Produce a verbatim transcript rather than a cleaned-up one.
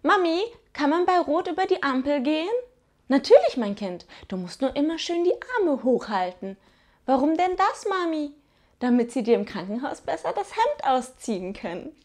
Mami, kann man bei Rot über die Ampel gehen? Natürlich, mein Kind. Du musst nur immer schön die Arme hochhalten. Warum denn das, Mami? Damit sie dir im Krankenhaus besser das Hemd ausziehen können.